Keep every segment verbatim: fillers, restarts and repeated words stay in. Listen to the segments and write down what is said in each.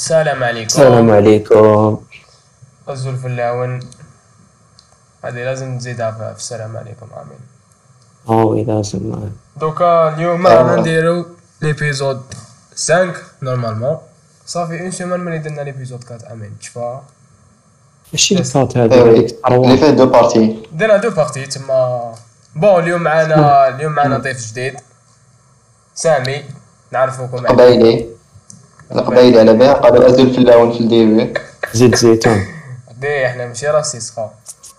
السلام السلام عليكم. عليكم. غزو الفلاون. هذه لازم نزيدها في في السلام عليكم، امين. اه لازم. دوكا اليوم رانا آه، نديرو ليبيزود خمسة نورمالمون. صافي اون سيمان ملي درنا ليبيزود أربعة، امين تشفى. ماشي جست الكات هذه هذيك وي اللي الثروة. فيه دو بارتي. درنا دو بارتي تما. بون اليوم اسمه معانا اليوم معانا ضيف جديد، سامي. نعرفوكم عليه. القبايلي القبيلي. القبايلي على بها قالوا أزل الفلاون في الديبي. زيت زيتون. دي احنا ماشي راسيس خا.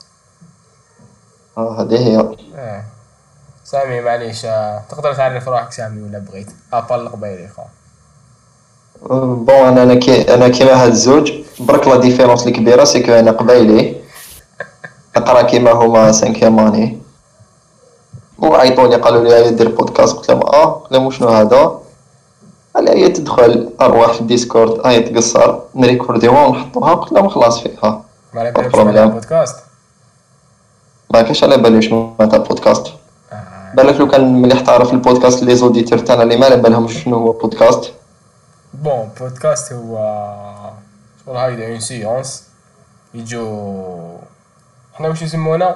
اه هذه هي. اه سامي معليش، آه، تقدر تعرف روحك سامي ولا بغيت ابال القبيلي خا. آه، بون انا انا كي انا كيما هاد الزوج برك لا ديفيرونس الكبيره سي كو انا قبايلي نقرا كيما هما سانكيام اني، وعيطوني قالوا لي هيا دير بودكاست. قلت لهم اه، قلت لهم شنو هذا؟ قال لي هيا تدخل ارواح في الديسكورد هيا تقصر نريكورديوها ونحطوها. قلت لهم خلاص فيها ما على با بالكش معناها بروبليم. بودكاست. ما كاش على بالي شنو معناتها بودكاست. آه. بالك لو كان ملي تعرف البودكاست لي زوديتور تاعنا اللي ما على بالهم شنو هو بودكاست. بون بودكاست هو شغل هايدا اون سيونس يجو. حنا واش يسمونا؟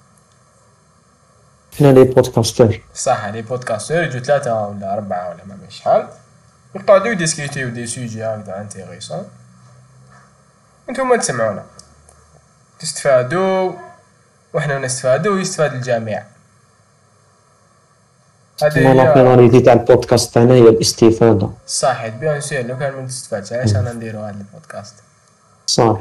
حنا لي بودكاستر. صح، لي بودكاستور يجو ثلاثة ولا أربعة ولا ما مش شحال، يقعدو يديسكوتيو دي سوجي هكذا انتيريسون. نتوما تسمعونا تستفادوا وحنا نستفادوا ويستفاد الجميع. هذه تما لا هي فيناليتي تاع البودكاست تاعنا هي الاستفادة. صح. بيان سور لو كان ما تستفادش علاش انا نديرو هذا البودكاست. صح.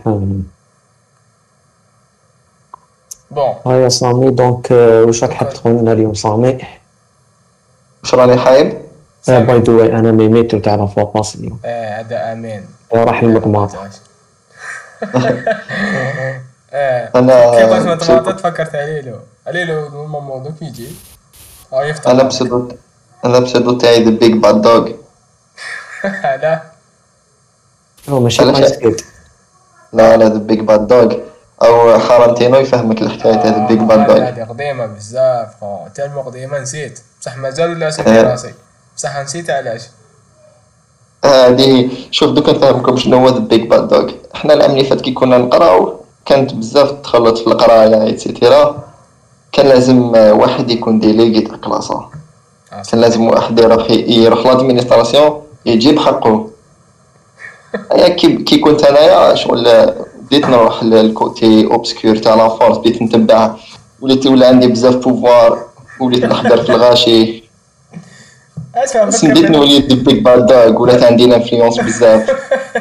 بون ها يا سامي دونك آه، واش راك حاب دوكا تقول لنا اليوم سامي؟ واش راني حايب؟ آه باي سامي. ذا واي انا ميميتو تاع لا فوا باس اليوم. اه هذا امين. آه، راح لا ما المقماطة. قلتهاش. اه كيفاش انا ما طماطة بسودو تفكرت عليه له عليه له الموضوع دوك يجي اه انا يفتح لك. بسودو انا بسودو تاعي ذا بيج باد دوغ. لا هو ماشي علاش؟ ايس كيد. لا لا ذا بيج باد دوغ او حارنتينو يفهمك الحكايه تاع ذا بيج اه باد هذه دوغ. هذه قديمة بزاف خو، تالمو قديمة نسيت بصح مازال ولا في راسي، بصح نسيت علاش. هذه شوف دوك نفهمكم شنو هو ذا بيج باد دوغ. احنا العام اللي فات كي كنا نقراو كانت بزاف تخلط في القرايه ايتترا. كان لازم آه، واحد يكون ديليغي تاع كلاسه. اه كان صح. لازم واحد يروح يروح لادمينستراسيون يجيب حقه. ايا كي كي كنت انايا شغل بديت نروح للكوتي اوبسكور تاع لا فورس، بديت نتبع، وليت ولا عندي بزاف بوفوار، وليت نحضر في الغاشي. اسمع بس بديت فكرتني. نولي دي بيك باد دوغ ولات عندي انفلونس بزاف.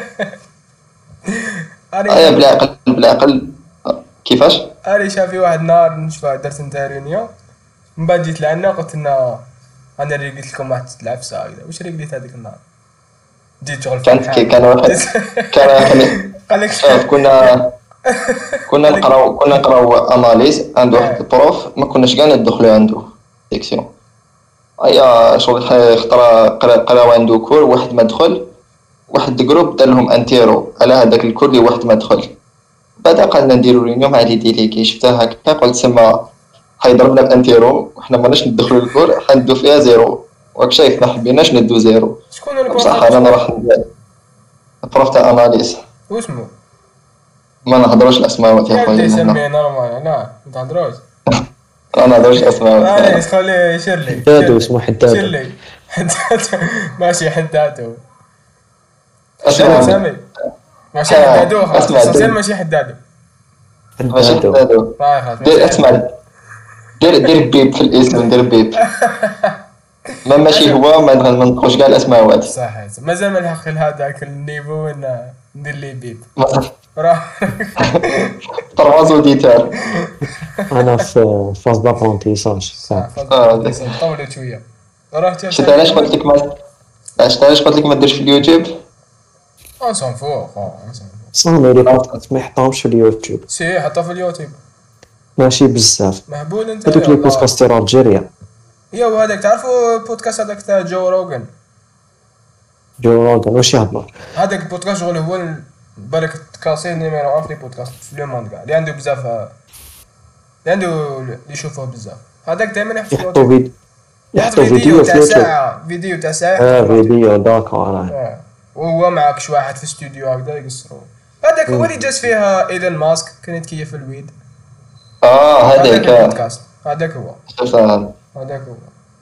انا ايا شافي بالعقل بالعقل. كيفاش؟ انا شافي واحد النهار نشوف درت نتا ريونيون، من بعد جيت لعنا قلت لنا انا اللي قلت لكم واحد العفسه هكذا. واش اللي قلت هذيك النهار؟ جيت شغل كانت كي فرحان كان واحد جيت كان واحد- قال لك شوف كنا كنا قال لك نقراو كنا نقراو اناليز عند واحد اه البروف ما كناش كاع ندخلو عنده سيكسيون. ايا شغل ح- خطرا قرا قراو عنده كور واحد ما دخل، واحد جروب دار لهم انتيرو على هذاك الكور اللي واحد ما دخل. بعد قالنا نديرو ريونيون مع لي ديليغي، شفتها هكا قلت سما حيضربنا بانتيرو وحنا ماناش ندخلو الكور حندو فيها زيرو. راك شايف ما حبيناش ندو زيرو. شكون هو بصح البروف؟ انا شكون نروح ندير البروف تاع اناليز. واسمو؟ ما نهضروش الاسماء يا يا خويا ودي من هنا. سميه نورمال، لا ما تهضروش. ما نهضروش الاسماء معليش هنا. خليه يشير لي يشير حدادو لي اسمه يشير حدادو. لي حدادو. ماشي حدادو. شنو اسمع سامي؟ ماشي ها حدادو خلاص، اسمع ليسونسيال دير ماشي حدادو. ماشي حدادو. هذا. طيب خلاص دير ماشي اسمع حدادو. دير دير بيب في الاسم، دير بيب. ما ماشي اسم هو ما نغ- ما نطقوش كاع الاسماء. صح. مازال ما لحق لهذاك النيفو وين ندير لي بيب راه. تروا زوديتار. انا في فاز دابرونتيساج صح تاع. فاز اه دابرونتيساج طولت شويه. راه تا شفت سامي علاش قلت كمل. لك ما شفت علاش قلت لك ما ديرش في اليوتيوب. اون سون فو خو اون سون فو. صامي لي بودكاست ما يحطهمش في اليوتيوب. سي حطها في اليوتيوب. ماشي بزاف. مهبول انت هذوك يا لي والله. بودكاستر الجيريا. يا وهذاك تعرفوا البودكاست هذاك تاع جو روغن؟ جو روغن واش يهضر؟ هذاك البودكاست شغل هو ال- بالك كاسي نيميرو واحد في لي بودكاست في لو موند كاع اللي عنده بزاف، اللي عنده اللي يشوفوه بزاف. هذاك دائما يحط في يحطوا اليوتيوب، فيديو يحط يحطوا فيديو فيديو في تاع اليوتيوب. ساعه، فيديو تاع ساعه يحطه اه في اليوتيوب. فيديو داكور. اه وهو معاك شي واحد في الاستوديو هكذا يقصروا. هذاك هو اللي جات فيها ايلون ماسك كانت كيف الويد. اه هذاك هذاك البودكاست هذاك هو شفتها. هذاك هو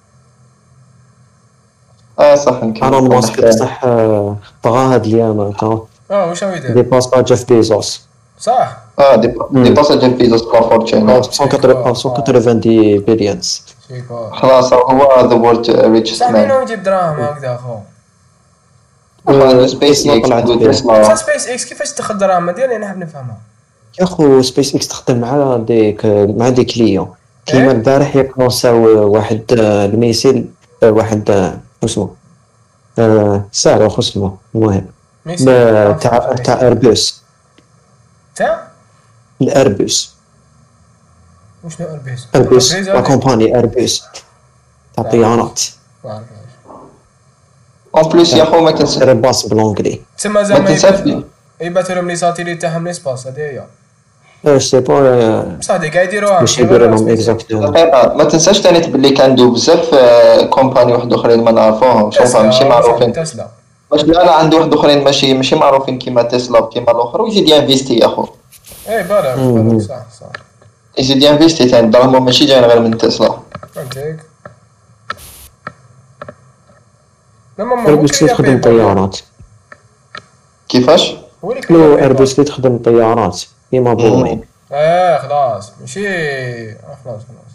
اه صح نكمل. ايلون ماسك بصح آه، بغا هاد اليوم تا اه واش هو يدير ديباس با جيف بيزوس صح. اه دي دي باس جيف بيزوس لا فورتشين. مية وثمانين بليونز. شيكو خلاص هو ذا وورد ريتشست صح مين مان. هو يجيب دراهم هكذا اخو. عنده سبيس تسلا اكس طلعت عنده فيه. بصح تسلا. سبيس اكس كيفاش تدخل دراهم ديالي انا حاب نفهمها. يا خو سبيس اكس تخدم مع ديك مع دي كليون كيما إيه؟ البارح يكونساو واحد آه، الميسيل آه، واحد آه، اسمه آه، سهل واخو اسمه المهم ميسي ب- تاع تاع اربوس تاع الاربوس وشنو اربيس اربوس لا كومباني اربوس تاع طيارات اون بليس يا خو ما تنسى سير باص بالونجلي تسمى ما زعما تنسى يبات- في يباتوا لهم لي ساتيليت تاعهم ليسباس هذه هي. اش سي با بصح هادي قاعد يديروها باش يديروا لهم اكزاكتومون دقيقة. ما تنساش تاني تبلي كندو بزاف آه، كومباني واحد اخرين ما نعرفوهمش شوفها ماشي معروفين. تسلا باش لا لا عنده واحد اخرين ماشي ماشي معروفين كيما تسلا كيما الاخر ويزيد ينفيستي يا خو. ايه بالك بالك صح صح يزيد ينفيستي ثاني دراهم ماشي جايين غير من تسلا. فهمتك. لما ما هو اربوس اللي تخدم طيارات كيفاش؟ هو اللي لو كيبيع اربوس اللي تخدم طيارات كيما بوين اه خلاص ماشي آه خلاص خلاص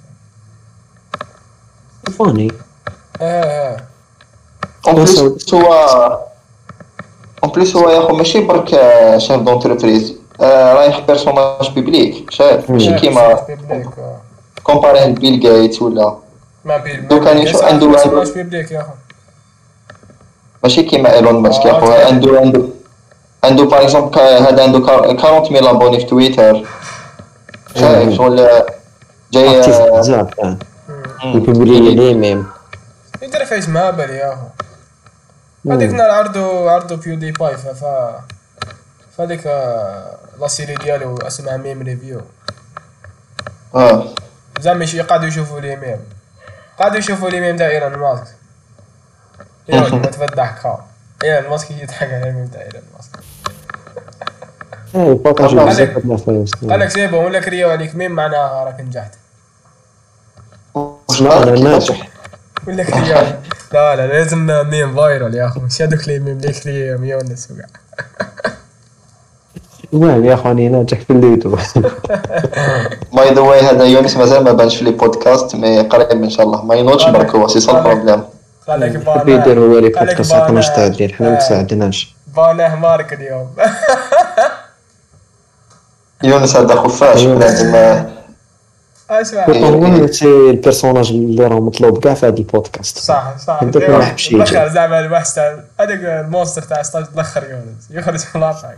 فاني اه اه اون بليس هو اون بليس هو يا خو ماشي برك شيف دونتربريز رايح بيرسوناج بيبليك شايف ماشي آه، كيما بيبليك آه. كومبارين بيل جيتس ولا ما بيل دو كان يشوف عنده بيرسوناج بيبليك يا اخو. ماشي كيما ايلون ماسك يا آه، خو. تعرف. عنده عنده عنده باغ اكزومبل هذا عنده أربعين ميل ابوني في تويتر شايف شغل جاي اكتيف آه، بزاف مم. يبيبلي لي ميم يدير فايس مهبل يا اخو. هذيك النهار عرضوا عرضوا بيو دي باي ف ف فهذيك آه، لا سيري ديالو اسمها ميم ريفيو. اه زعما يش- قعدوا يشوفوا لي ميم قعدوا يشوفوا لي ميم تاع ايلون ماسك. يا ولد ما تفضحك خا ايلون ماسك يضحك على الميم تاع ايلون ماسك. اي بارطاجي قال بزاف هاد الفايس قال لك سي بون ولا كرياو عليك ميم معناها راك نجحت لا انا ناجح ولا كرياو. لا لا لازم ميم فايرال يا اخو مش هذوك لي ميم اللي كرياو مية ونس وكاع. المهم يا اخواني ناجح في الليدو باي ذا واي هذا يونس مازال ما بانش في لي بودكاست مي قريب ان شاء الله ما ينوضش برك هو سي سا البروبليم. قال لك حبي يدير هو لي قال لك بودكاست حنا بانه- مستعدين حنا ما تساعدناش بانه مارك اليوم. يونس هذا خفاش لازم آه، اسمع هو سي البيرسوناج اللي راه مطلوب كاع في هذا البودكاست صح صح عندك ديما- واحد شي الاخر زعما البحث تاع هذاك المونستر تاع ستاج الاخر يونس يخرج في الواقع.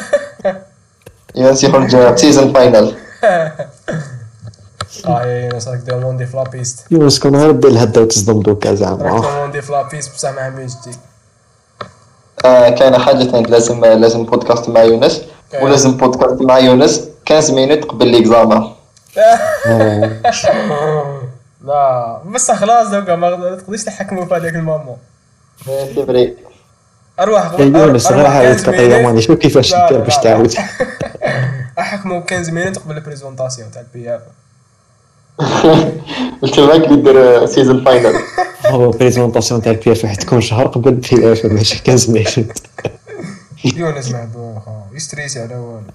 يونس يخرج سيزون فاينل. اه يا يونس راك دير موندي فلابيست يونس كون غير دير الهدا وتصدم دوكا راك زعما دير موندي فلابيست بصح مع ميجتي. آه كاينه حاجه ثانيه لازم لازم بودكاست مع يونس ولازم بودكاست مع يونس خمسة مينوت قبل ليكزامان. لا بصح خلاص دوكا ما تقدرش تحكموا في هذاك المومون. سي فري. اروح يونس غير عاود كطيه ماني شوف كيفاش لا، دير لا، باش لا. تعاود احكموا خمسة مينوت قبل البريزونطاسيون تاع البي اف. قلت لك يدير سيزون فاينل. هو بريزونطاسيون تاع البي اف راح تكون شهر قبل البي اف ماشي خمسة مينوت يونس محبوب خا يستريسي على والو.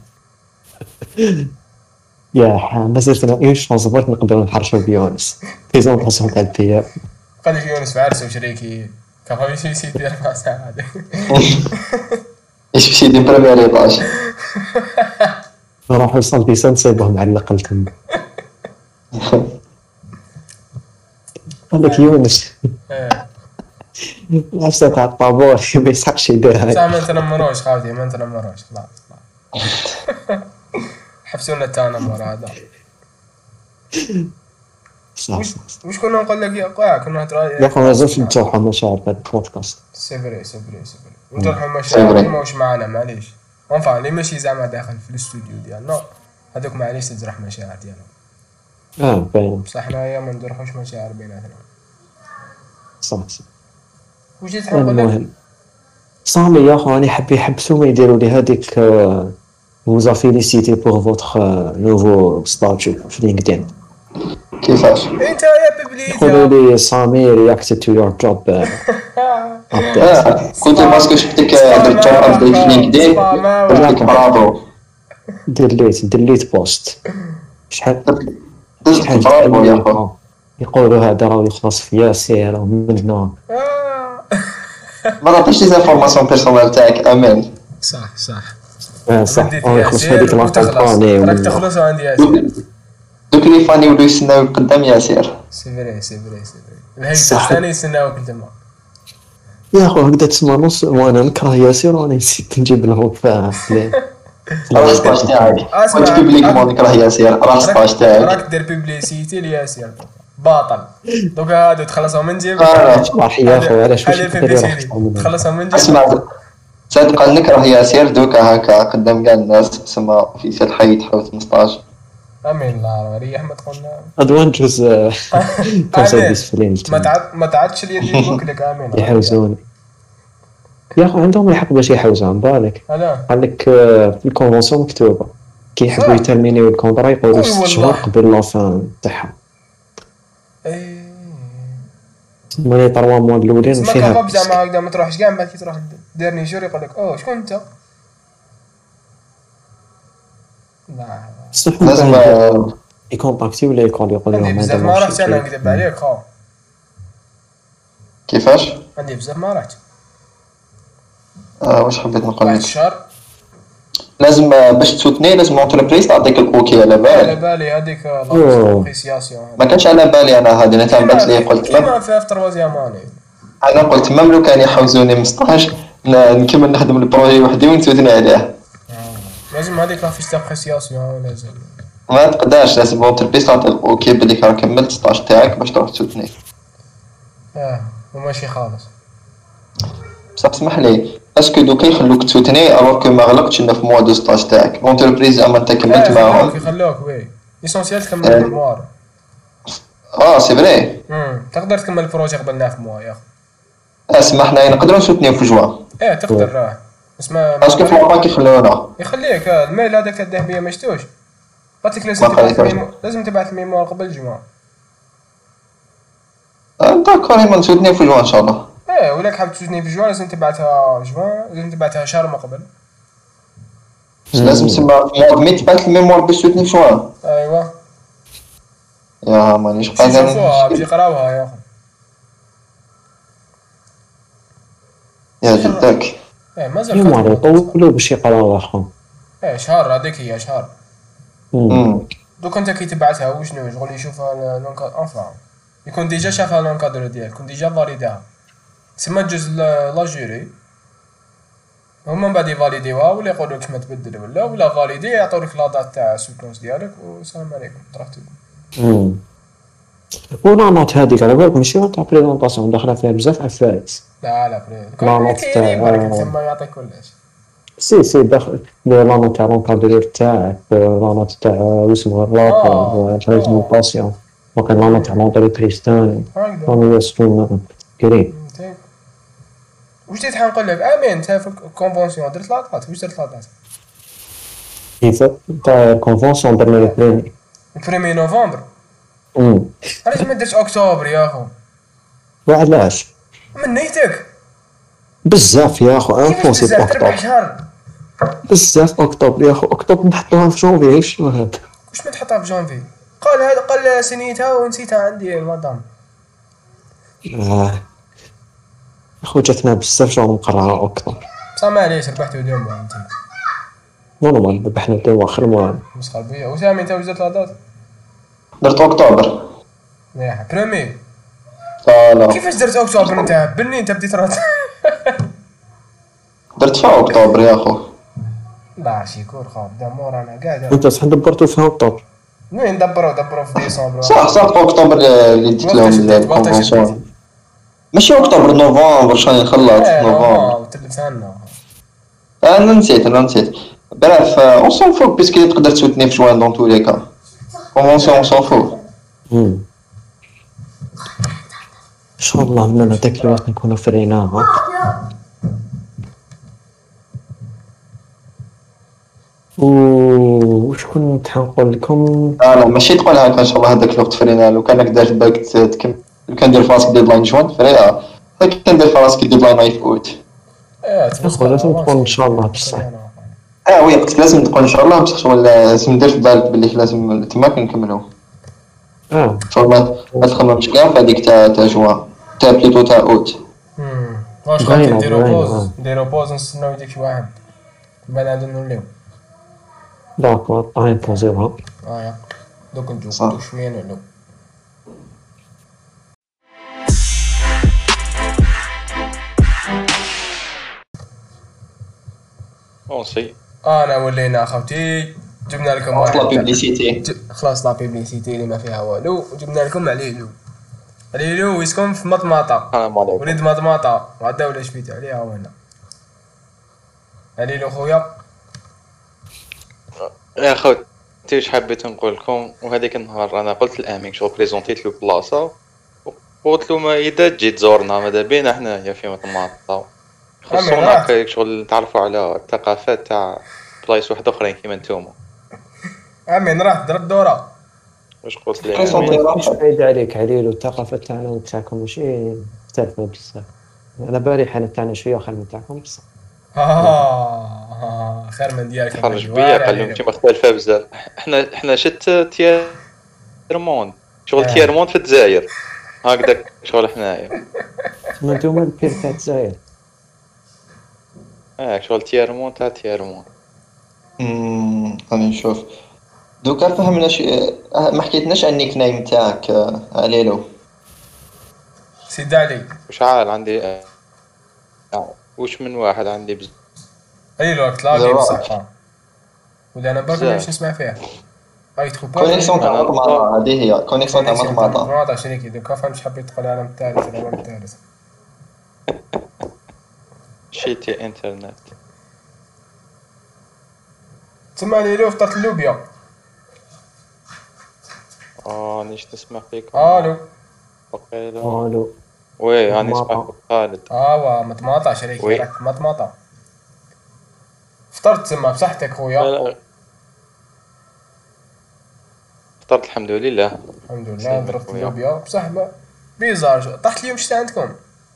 يا حا مازلت انا ايش نصبرت نقدر نحرشوا بيونس بريزونطاسيون تاع البي اف قال لك يونس في عرسه وشريكي كان هو يمشي يدير مع سعاده. ايش باش يدير بريمير ايطاج. نروحوا لصالتي سنصيبهم على الاقل تما قال لك يونس إيه. نفسه تاع الطابور ما يسحقش يديرها صح ما نتنمروش خاوتي ما نتنمروش خلاص خلاص. حبسونا التنمر هذا. صح وش صح وش كنا نقول لك يا قاع كنا يا اخي ما زلت نتوحى مشاعر في هذا البودكاست سيفري سيفري سيفري نجرحوا المشاعر ما واش معنا معليش اونفا اللي ماشي زعما داخل في الاستوديو ديالنا هذوك معليش تجرح مشاعر ديالهم اه باين بصح حنايا ما نجرحوش مشاعر بيناتنا. صح صح واش جيت نقول لك المهم صامي يا خو راني حاب يحبسوا ما يديروا لي هذيك وزا فيليسيتي بور فوتخ نوفو ستاتيو في لينكدين. كيفاش؟ انت يا يقولوا ببليتها. لي سامي رياكتد تو يور جوب اه قلت باسكو شفتك درت جوب ابديت في لينكدين قلت لك برافو. ديليت ديليت بوست. شحال دزت شحال برافو يا خو. يقولوا هذا راه يخلص في ياسير ومنا. ما تعطيش لي انفورماسيون بيرسونال تاعك امان. صح صح. اه صح بديت راه يخلص في هذيك ياسير وتخلص، لاكومباني راك ومنا. تخلص وعندي ياسير. دوك لي فاني ولاو يستناو قدام ياسير. سي فري سي فري سي فري. الهيئة صح. الثانية يستناوك انت ما. يا خو هكذا تسمى نص وانا نكره ياسير وانا نسيت نجيب له في راه سباج تاعك اسمع، قلت بيبليكمون نكره ياسير راه سباج تاعك. راك دير بيبليسيتي لياسير باطل. دوكا هادو تخلصهم من جيبك. آه. صراحة يا خو علاش واش هذه تقدر بيبليسيتي تخلصهم من جيبك. اسمع صدق نكره ياسير دوكا هكا قدام كاع الناس تسمى في سال حي تحاول خمسطاش. امين الله ريح ما تقولنا. ادوان جوز كونسيرفيس فلين ما تعد ما تعدش اليد يبوك لك امين. يحوزوني يا خو عندهم الحق باش يحوزوا عن بالك. هلا قال لك في الكونفونسيون مكتوبه كي يحبوا يترمينيو الكونطرا يقولوا أي ست والله. شهور قبل لافان تاعها. ايه ماني طروا موا الاولين ما فيها كباب زعما هكذا ما تروحش كاع من بعد كي تروح ديرني جور يقول لك اوه شكون انت؟ لا لازم آه، يكونتاكتي ولا يقول يقول عندي لهم بزاف هذا ما ماشي رحت انا كي- نكذب عليك خو. كيفاش؟ عندي بزاف ما رحت آه واش حبيت نقول واحد لك؟ الشهر. لازم آه، باش تسوتني لازم لونتربريز تعطيك الاوكي على على بالي. بالي هذيك أوه. لابريسياسيون. ما كانش على بالي انا هذه انا تنبات لي قلت مم- كيما في تروازيام اني. انا قلت مم لو كان يحوزوني من ستاج ن- نكمل نخدم البروجي وحدي ونتوتني عليه. لازم هذيك لا فيش دابريسياسيون لازم. ما تقدرش لازم لونتربريز تعطيك اوكي بليك راه كملت ستاج تاعك باش تروح تسوتني. اه وماشي خالص. بصح اسمح لي اسكو دوكا يخلوك تسوتني الوغ كو ما غلقتش انا في موا دو ستاج تاعك لونتربريز اما انت كملت آه، يخلوك معاهم. يخلوك وي ليسونسيال تكمل آه. الميموار. اه سي فري. امم تقدر تكمل البروجي قبل في موا يا اخي. اسمح لي نقدروا نسوتنيو في جوان ايه تقدر راه اسمع باسكو في لاباك يخلونا. يخليك آه، الميل هذاك الذهبيه ما شتوش. قلت لك لازم ما تبعث قريتهاش. الميمو... لازم تبعث الميموار قبل الجمعه. آه، داكور ايما نسوتنيو في جوان ان شاء الله. ايه ولاك حاب تجوني في جوان لازم تبعثها جوان لازم تبعثها شهر ما قبل. لازم تسمى في موا مي تبعث الميموار باش تسوتني في جوان. ايوا يا مانيش باش يشوفوها قادر. باش يقراوها يا اخي. يا جدك ايه مازال يمار خدمة. يطولوا باش يقراو اخو. ايه شهر هذيك هي شهر. مم. دوك انت كي تبعثها وشنو شغل يشوفها لونكا انفا يكون ديجا شافها لونكادر ديالك يكون ديجا فاليداها تسمى جوج لا جوري هما من بعد يفاليديوها ولا يقولوا لك ما تبدل ولا ولا فاليدي يعطوا لك لا دات تاع السوكونس ديالك والسلام عليكم تروح تبدا. ولا نوت هذيك على بالك ماشي تاع بريزونطاسيون داخله فيها بزاف عفايس. لا لا فري لا، نوت كاين تاع- يبارك تما يعطيك كلش. سي سي داخل لا نوت تاع لونكادرور تاعك لا نوت تاع اسمه آه. الرابور بريزونطاسيون وكان لا نوت تاع لونتربريز تاعي هكذا راني يسكن كريم. فهمتك. واش جيت حنقول لك امين انت في الكونفونسيون درت لاطات واش درت لاطات كيف تاع كونفونسيون درنا البريمي. البريمي نوفمبر امم علاش ما درتش اكتوبر يا اخو وعلاش من نيتك بزاف يا اخو كيفاش انفونسي بزاف تربح اكتوبر شهر بزاف اكتوبر يا اخو اكتوبر نحطوها في جونفي عيش شنو هذا. واش ما تحطها في جونفي قال هذا قال سنيتها ونسيتها عندي المدام آه. اخو جاتنا بزاف شغل نقراها اكتوبر بصح معليش ربحتو ديما انت نورمال ذبحنا تو اخر ما مسخر بيا وسامي انت واش درت لاطات درت اكتوبر. مليح بريمي فوالا كيفاش درت اكتوبر انت هبلني انت بديت راه درت فيها اكتوبر يا اخو. لا شيكور خا بدا مورانا قاعد انت صح دبرتو فيها اكتوبر. وين دبروا دبروا في ديسمبر صح صح في اكتوبر اللي ديت لهم وقتاش ديت؟ وقتاش الكونفونسيون. ماشي اكتوبر نوفمبر شحال نخلص ايه نوفمبر. نو تلف عنا انا نسيت انا نسيت. بريف اون سون فو بيسكي تقدر تسوتني في جوان دون تو لي كا كونفونسيون اون سون فو. امم ان شاء الله من هذاك الوقت نكونوا فريناها. وشكون كنت حنقول لكم؟ لا لا ماشي تقول هكا ان شاء الله هذاك الوقت فرينا لو كانك دار في بالك تكمل كندير في راسك ديدلاين جوان فري كندير في راسك ديدلاين في اوت. اه اخو لازم تقول ان شاء الله بصح. اه وي قلت لازم تقول ان شاء الله بصح شغل لازم ندير في بالك باللي لازم تما كنكملو اه فما ما تخممش كاع في هذيك تاع تاع جوان تاع بليتو تاع اوت. امم واش غادي باينة نديرو باينة بوز آه. نديرو بوز نستناو ديك شي واحد من بعد نوليو. داكور طاين بوزيوها. اه يا دوك نجو صح. دوك شويه نعلو. اون سي انا ولينا اخوتي جبنا لكم خلاص لا واحد بيبليسيتي. ج- خلاص لا بيبليسيتي اللي ما فيها والو وجبنا لكم عليلو. عليلو يسكن في مطماطه السلام عليكم. وليد مطماطه غدا ولا شفيت عليها هو هنا. عليلو خويا يا خوتي واش حبيت نقول لكم وهذيك النهار انا قلت لامين شغل بريزونتيت له بلاصه قلت له ما اذا تجي تزورنا ماذا بينا حنايا في مطماطه خصونا هكا شغل نتعرفوا على الثقافات تاع بلايص واحد اخرين كيما نتوما. امين راح درب دوره. واش قلت لي كيف امين؟ ندير مش بعيد عليك عليلو الثقافة تاعنا وتاعكم ماشي مختلفة بزاف. على بالي حنا تاعنا شوية خير من تاعكم بصح. اه خير من ديالك يا خرج بني. بيا واري قال لهم عليلو. انت مختلفه بزاف. احنا احنا شت تيرموند شغل آه. تيرموند في الجزائر هكذاك شغل حنايا. تما نتوما البير تاع الجزائر. اه شغل تيرموند تاع تيرموند. امم راني نشوف دوكا فهمنا شي ما حكيتناش عن النيك نيم تاعك آه، عليلو. سيدي علي وش عال عندي آه. آه. وش من واحد عندي بزاف عليلو راك تلاقي زواج. بصح ولا انا برك مانيش بزاف. نسمع فيها. اي تخو با كونيكسيون تاع أنا مطماطة هذه هي كونيكسيون تاع كونيكسيون تاع مطماطة. مطماطة شريكي دوكا فهمت حبيت تقول العالم الثالث العالم الثالث. شيتي انترنت. تسمع عليلو فطرت اللوبيا. اه نيش نسمع فيك. الو وقيلا الو وي راني نسمع مطماطة. فيك خالد. اه مطماطة شريكي وي. راك مطماطة. فطرت تما بصحتك خويا. لا لا فطرت الحمد لله. الحمد لله سلمك ضربت خويا. اللوبيا بصح ما- بيزار طاحت اليوم شتا عندكم.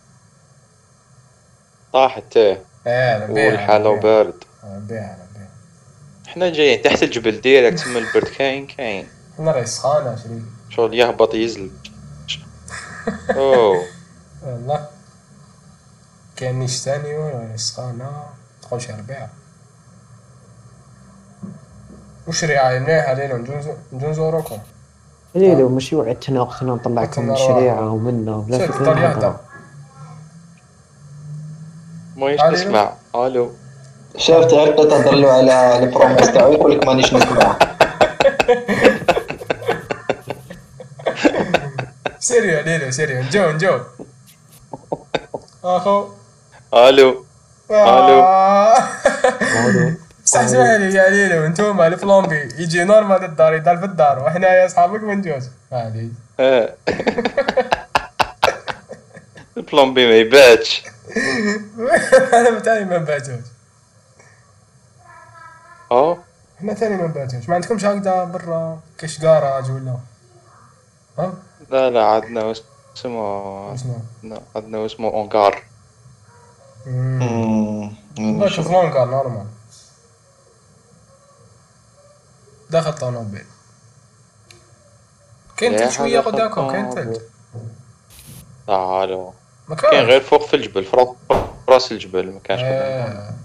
طاحت تاه اه انا بيها والحالة وبارد. انا بيها انا بيها. حنا جايين تحت الجبل ديريكت تما البرد كاين كاين انا راهي سخانة شريكي شغل يهبط يزل. اوه والله كاين نيش ثاني ولا سخانة تدخل شي ربيع. وش ريعة مليحة علينا نجو نجو نزوروكم. عليلو ماشي وعدتنا وقتنا نطلعكم قلت من لنا الشريعة ومنا بلا شوف فكرة طلع نهضروا. ما علينا. نسمع. الو شاف تعرف تهضر له على البروميس تاعو يقول لك مانيش نسمع. سيريو علينا سيريو نجو نجو اخو. الو آه. الو بصح اسمح لي يا علينا وانتوما الفلومبي يجي نورمال الدار يضل في الدار وحنا يا اصحابك ما نجوش معليش. اه البلومبي ما يباتش. انا تاني ما نباتوش. اه حنا ثاني ما نباتوش. ما عندكمش هكذا برا كاش كراج ولا ها لا لا عندنا اسمه شنو؟ لا، عندنا اسمه اونكار. امم والله شوف لونكار نورمال داخل طونوبيل. كاين يا تلت شويه حاجة قدامكم كاين خطابة. تلت تعالوا ما كاين كانش. غير فوق في الجبل في راس- راس الجبل ما كانش قدام. آه.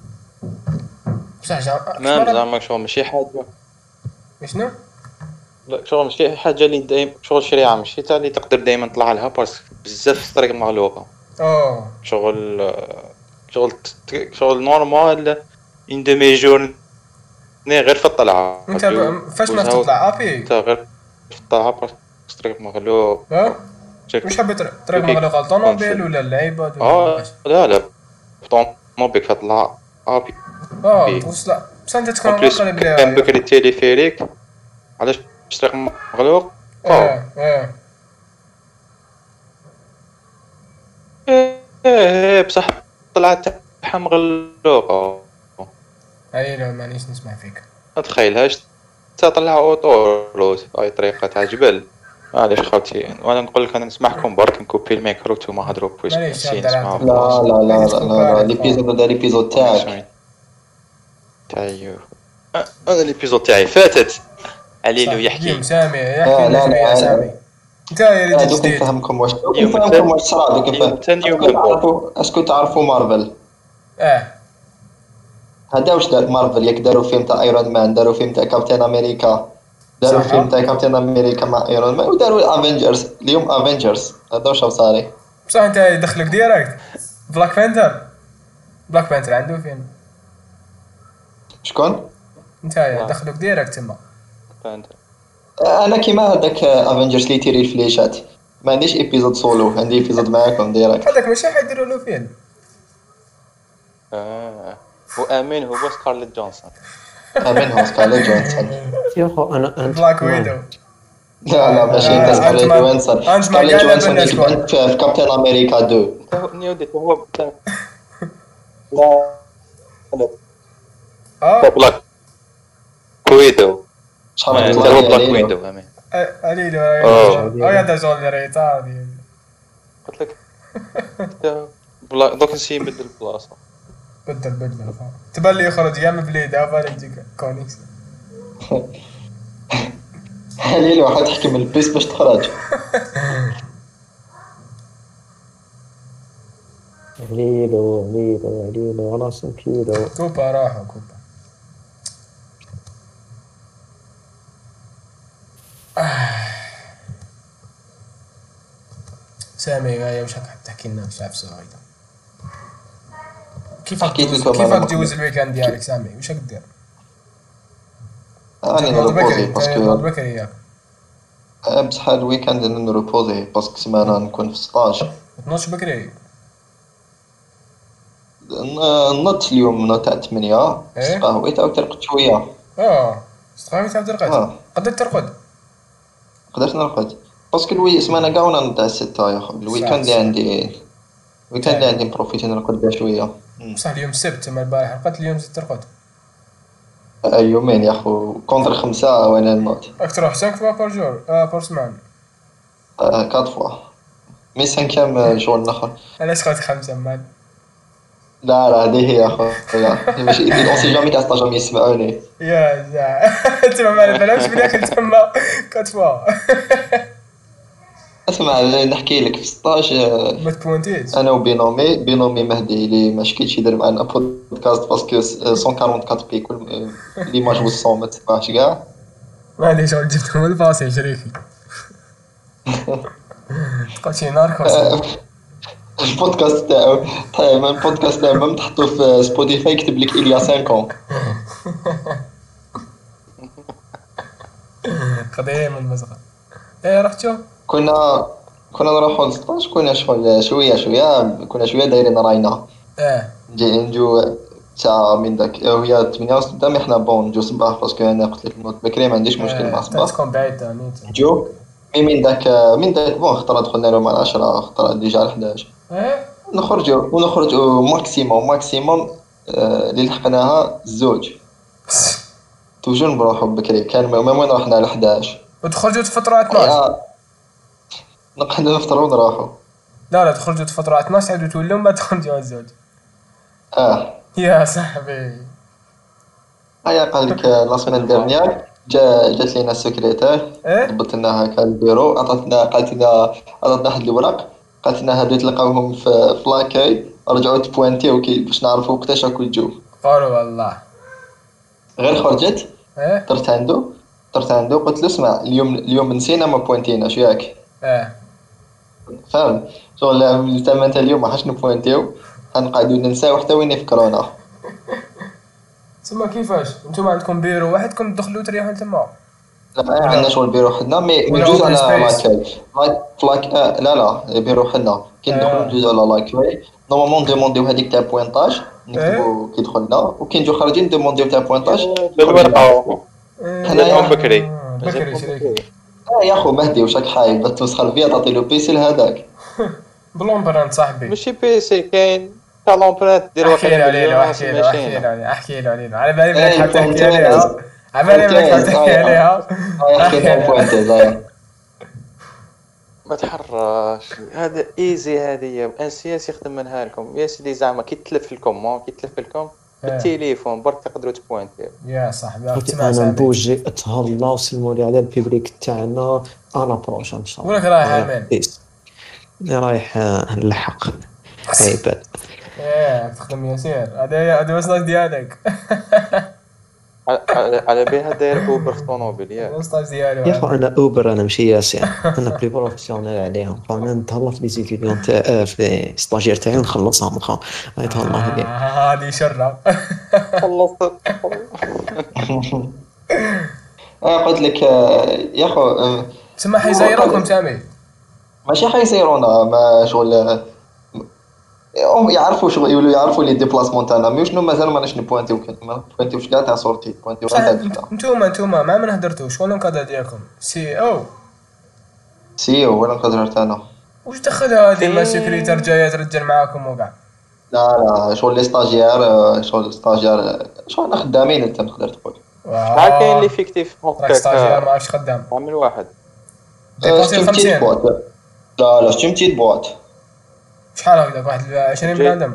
بصح جا تمام شنو زعما شغل ماشي حاجة. شنو؟ لا شغل ماشي حاجة اللي دايما شغل شريعة ماشي تاع اللي تقدر دايما تطلع لها باسكو بزاف الطريق مغلوقة. اوه شغل شغل ت- شغل نورمال ان دمي جورني غير في الطلعة. انت ب- فاش ما وزهو- تطلع ابي انت غير في الطلعة باسكو الطريق مغلوق. ها شك- واش حبيت طريق اوكي. مغلوقه الطونوبيل ولا اللعيبه ولا اه واش؟ لا لا طوموبيل كتطلع ابي. اه إيه. توصل بصح انت اون تكون بليس قريب ليها. كان بكري التليفيريك علاش الطريق مغلوق. اه اه ايه ايه بصح طلعت تاعها مغلوقة. اي لا مانيش نسمع فيك. ما تخيلهاش تطلع اوطوروت اي طريقه تاع جبل. معليش خاوتي وانا نقول لك انا نسمعكم برك نكوبي الميكرو نتوما هضروا بويسك معليش نسي هدر نسمعوا عندك. لا لا لا عايز لا تكون لا لا بعرف. ليبيزود هذا ليبيزود تاعك. تاعي انا ليبيزود تاعي فاتت عليلو اليوم يحكي. سامي آه، يحكي لا، لنا شويه لا، سامي. انت يا لا ريت دوك جديد. نفهمكم واش دوك اليوم نفهمكم الثاني- واش صرا دوك اليوم نفهم. الثاني يوم اسكو من بعد. تعرفوا اسكو تعرفوا مارفل اه هذا واش دار مارفل ياك داروا فيلم تاع ايرون مان داروا فيلم تاع كابتن امريكا داروا صح. فيلم تاع كابتن امريكا مع ايرون مان وداروا افنجرز اليوم افنجرز هذا واش صاري بصح انت يدخلك ديريكت بلاك بانثر. بلاك بانثر عنده فيلم. شكون انت يا لا. دخلك ديريكت تما. فهمت. انا كيما هذاك افنجرز اللي تيري الفليشات ما عنديش ايبيزود سولو عندي ايبيزود معاكم ديريكت هذاك ماشي حيديروا له فيلم. اه وامين هو سكارليت جونسون. امين هو سكارليت جونسون يا اخو انا انت بلاك ويدو. لا لا ماشي لا، انت لا، سكارليت أنت ما- جوانسون أنت ما سكارليت قاعد جوانسون بالناس اللي كانت في كابتن امريكا اثنين نيودي هو بتاع لا اه بلاك ويدو. شحال هو هضرت بلاك عليه ويدو امين. علي له آه. اه هذا زول ريتا هذه. قلت لك بلا دوك نسي نبدل البلاصه. بدل بدل تبان لي يخرج يا من بليد افا يجيك كونيكس. علي واحد تحكي من البيس باش تخرج عليلو عليلو عليلو خلاص كيلو. كوبا راحوا كوبا. سامي يا وش راك تحكي لنا في شاف صغيره؟ كيف حكيت تجوز لكم كيف أنا تجوز الويكاند ديالك سامي؟ وش راك دير؟ راني تنوض نروبوزي بكري تنوض باسكو بكري ياك بصح الويكاند انا نروبوزي باسكو سمانه نكون في ستاج تنوضش بكري. ن- نضت اليوم نوض تاع ثمانية إيه؟ قهويت عاود ترقدت شويه اه استخدامي تعاود ترقد. اه قدرت ترقد. قدرت نرقد باسكو الوي سمانه كاع وانا نوض تاع ستة يا خو الويكاند اللي صح. عندي الويكاند اللي عندي نبروفيتي نرقد بها شويه بصح اليوم السبت تما البارح رقدت اليوم زدت ترقد. آه، يومين يا خو كونتر خمسة وانا نوض راك تروح خمسة فوا بار جور اه بار سمان. آه، كات فوا مي سانكيام شغل الاخر علاش قلت خمسة مان؟ لا لا هذه هي يا خويا ماشي اون سي جامي تاع جامي يسمعوني يا زع تما ما بالهمش بلي اخي تما كات فوا. اسمع نحكي لك في ستاج آه، ما تبوانتيش. انا وبينومي بينومي مهدي اللي ما شكيتش يدير معنا بودكاست باسكو مية وأربعة وأربعين بي كل اللي ما جوز الصون ما تسمعش كاع معليش شغل جبتهم الباصي شريكي. تقول شي ناركوس. آه، البودكاست تاعو طيب البودكاست تاعو ميم تحطو في سبوتيفاي يكتب لك إليا خمسة قديم المزغه. ايه رحت شوف. كنا كنا نروحو للسطاج كنا شغل شويه شويه كنا شويه دايرين راينا اه نجي نجو ساعة من داك وهي ثمانية ونص قدام احنا بون نجو صباح باسكو انا قلت لك نوض بكري ما عنديش مشكل مع آه، صباح تكون بعيد تاني. نجو مي من داك من داك بون خطرة دخلنا لهم على عشرة خطرة ديجا على حداش ايه نخرجوا ونخرجوا ماكسيموم ماكسيموم آه، اللي لحقناها الزوج توجور نروحو بكري كان ميم وين رحنا على حداش وتخرجوا تفطروا اثناش. يا نقعدو نفطرو ونروحو لا لا تخرجوا تفطروا اثناش تعاودوا تولوا من بعد تخرجوا الزوج. اه يا صاحبي. هيا قال لك لا سيمين ديرنيير جا جات لينا السكرتير ايه ضبط لنا هكا البيرو عطاتنا قالت لنا عطاتنا واحد الوراق قالت لنا هادو تلقاوهم في في لاكاي رجعوا تبوانتيو كي باش نعرفوا وقتاش راكو تجو قالوا والله. غير خرجت ايه درت عنده درت عنده قلت له اسمع اليوم اليوم نسينا ما بوانتيناش ياك ايه فاهم شغل تما انت اليوم ما حاش نبوانتيو غنقعدو ننساو حتى وين يفكرونا تما كيفاش نتوما عندكم بيرو وحدكم تدخلوا تريحوا تما؟ لا عندنا شغل بيرو حدنا مي ولا ندوز open على space. لاكاي فلاك آه لا لا بيرو حدنا كي ندخلو آه. ندوز على لاكاي نورمالمون نديمونديو هذيك تاع بوينتاج نكتبو كي دخلنا وكي نجو خارجين نديمونديو تاع بوينتاج بالورقه هنايا بكري. آه، بكري شريكي. اه يا خو مهدي وشك حايب تمسخر فيا تعطي له بيسي لهذاك بلومبر انت صاحبي. ماشي بي سي كاين تاع لومبرانت دير واحد احكي له عليه مليون احكي له احكي ماشينه. له عليه احكي له عليه على بالي إيه، بدك تحكي فهمتني. عليها على بالي بدك فهمتني. تحكي عليها آه، يحكي لهم بوينتيز آه. ما تحرش هذا ايزي، هذه ان سي اس يخدم منها لكم يا سيدي. زعما كي تلف لكم ما كي تلف لكم بالتليفون برك تقدروا تبوينتيو. يا صاحبي صافي تسمع انا سامي نبوجي اتهلا وسلموا لي على البيبريك تاعنا انا بروش ان شاء الله. ولك رايح امان بيس. أنا رايح آه، نلحق عباد. ايه تخدم ياسير هذا هذا وصلك ديالك على- على على بها داير اوبر في طونوبيل ياك. وصلك ديالو يا اخو انا اوبر انا ماشي ياسين انا بلي بروفيسيونيل عليهم فانا نتهلا في لي ستوديون تاع في ستاجير تاعي ونخلصهم اخو يتهلا لي. آه، هذه شره خلصت. اه قلت لك آه، يا اخو آه، تسمى حيزيروكم سامي ماشي حيصيرونا ما شغل آه، هم يعرفوا شغل يقولوا يعرفوا لي ديبلاسمون تاعنا مي شنو مازال ماناش نبوانتيو ما نبوانتيوش كاع تاع صورتي بوانتيو صح غير تاع الدخله. انتوما انتوما مع من هدرتوا شكون الكادر ديالكم سي او سي او ولا القدر تاعنا. واش دخل هذه ما في- سيكريتير جايه ترجل معاكم وكاع لا لا شغل لي ستاجير آه، شغل ستاجير آه، شغل خدامين انت تقدر تقول. شحال كاين اللي فيكتيف راك ستاجير هكاك ما عرفتش خدام عامل واحد. ديباسي شتي خمسين بوات. لا لا شتي متيت بوات. شحال هكذاك واحد عشرين بنادم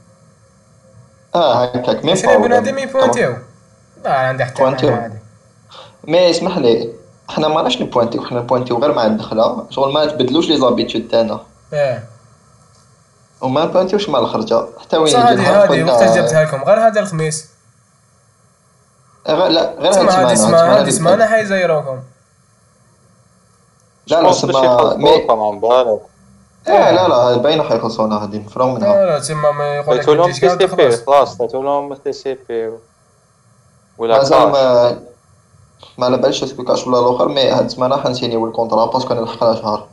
اه هكاك ميم عشرين بنادم يبوانتيو لا عندي حتى بوانتيو. حاجه عادي مي اسمح لي احنا ماناش نبوانتيو حنا نبوانتيو غير مع الدخله شغل ما تبدلوش لي زابيتود تاعنا ايه وما نبوانتيوش مع الخرجه حتى وين صح يجي هذه النهار هذه قلنا- وقت جبتها لكم غير هذا الخميس غير لا غير تسمى هذه هاد اسمها السمانه هذه اسمها حيزيروكم لا لا سما مي طبعا بالك لا لا لا باينه حيخلصونا هادي نفرو منها. لا لا تسمى ما يقول لك عطيتو لهم تجيش تي كاع سي بي تخلص خلاص عطيتو لهم تي سي بي ولا مازال كاش. ما ما على باليش اسكو كاش ولا الاخر مي هاد السمانه حنسينيو الكونطرا باسكو نلحقنا شهر.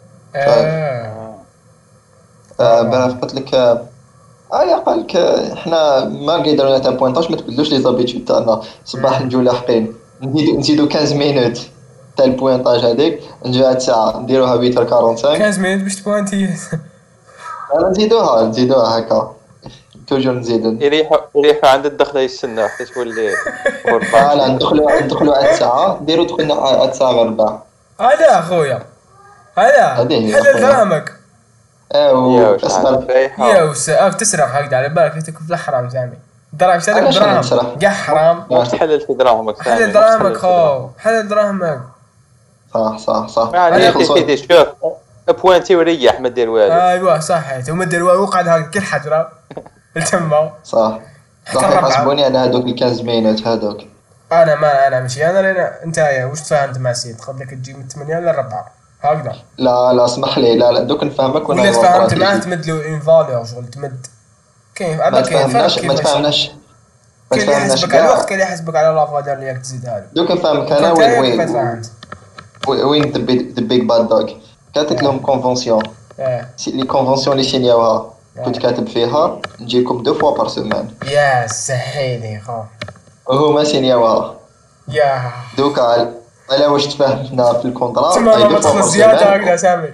ايه آه باه قلت لك اه يا قال لك آه، حنا ما قدرنا تاع بوينتاج ما تبدلوش لي زابيتود تاعنا صباح نجيو لاحقين نزيدو نزيدو خمسة مينوت تاع البوينتاج هذيك نجيو عاد ساعه نديروها ثمانية أربعين خمسة مينوت باش تبوانتي انا نزيدوها نزيدوها هكا توجور نزيدو يريحوا يريحوا عند الدخله يستناو حتى تولي لا غرفه. لا ندخلو ندخلو عاد ساعه نديرو دخلنا عاد ساعه غير ربع. هذا اخويا هذا هذه هي حلل أخويا. دراهمك يا ايوا واش اسمع عارف فايحة. يا وساك تسرق هكذا على بالك تكون في الحرام سامي دراهم شريك علاش أنا دراهم نسرق؟ كاع حرام واش تحلل في دراهمك سامي؟ حلل واش دراهمك تحلل في خو دراهمك؟ حلل دراهمك صح صح صح يعني هذه يا خلصوا. سيدي شوف بوانتي وريح ما دير والو. ايوا صح ثم دير وقعد هكا كل حجره تما صح صح حتى الربعة. يحاسبوني على هذوك ال خمسة مينوت هذوك. انا ما انا ماشي انا لان انت يا واش تفاهمت مع سيد قبلك تجي من ثمانية للربعة هكذا لا لا اسمح لي لا لا دوك نفهمك ولا تفاهمت معاه تمد له اون فالور شغل تمد كاين ما هذا كاين فرق تفهمناش ما كيفاش تفهمناش ما كاين اللي تفهمناش يحسبك على الوقت كاع كاين اللي يحسبك على لافادر اللي راك تزيدها له دوك نفهمك انا كنت وين أنا وين كيف تفهمت وين ذا بيج باد دوغ كاتب لهم كونفونسيون اه لي كونفونسيون اللي سينيوها آه. كنت كاتب فيها نجيكم دو فوا بار سيمان يا سهيلي خو وهما سينيوها يا دوكا على على واش تفاهمنا في الكونترا تما أي ما دو فوا بار تخلص زياده سيمان. هكذا سامي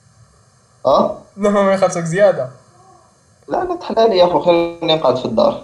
اه لا ما يخلصك زياده لا لا تحلالي يا اخو خليني نقعد في الدار.